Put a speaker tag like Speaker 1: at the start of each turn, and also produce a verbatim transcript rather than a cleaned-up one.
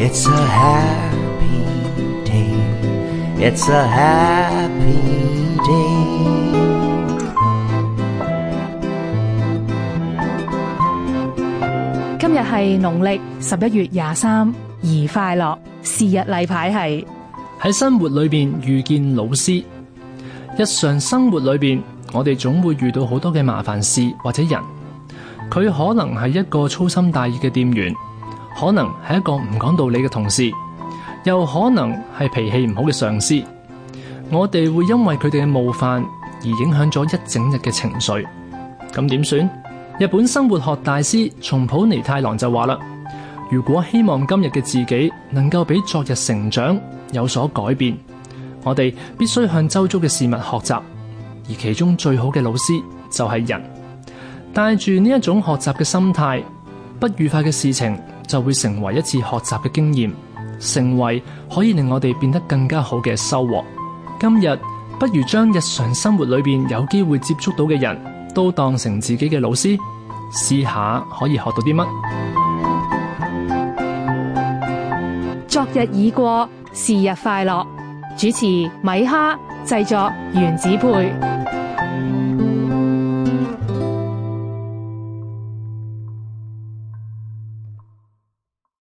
Speaker 1: It's a happy day. It's a happy day.
Speaker 2: 今日係農曆十一月廿三，宜快樂。是日例牌係
Speaker 3: 喺生活裏邊遇見老師。日常生活裏邊，我哋總會遇到好多嘅麻煩事或者人。佢可能係一個粗心大意嘅店員，可能係一個唔講道理嘅同事，又可能係脾氣唔好嘅上司。我哋會因為佢哋嘅冒犯而影響咗一整日嘅情緒。咁點算？日本生活學大師松浦彌太郎就話啦，如果希望今日嘅自己能夠比昨日成長，有所改變，我哋必須向周遭嘅事物學習，而其中最好嘅老師就係人。帶住呢一種學習嘅心態，不愉快嘅事情就會成為一次學習嘅經驗，成為可以令我哋變得更加好嘅收穫。今日不如將日常生活裏邊有機會接觸到嘅人都當成自己嘅老師，試下可以學到啲乜。
Speaker 2: 昨日已過，是日快樂。主持米哈，製作原子配。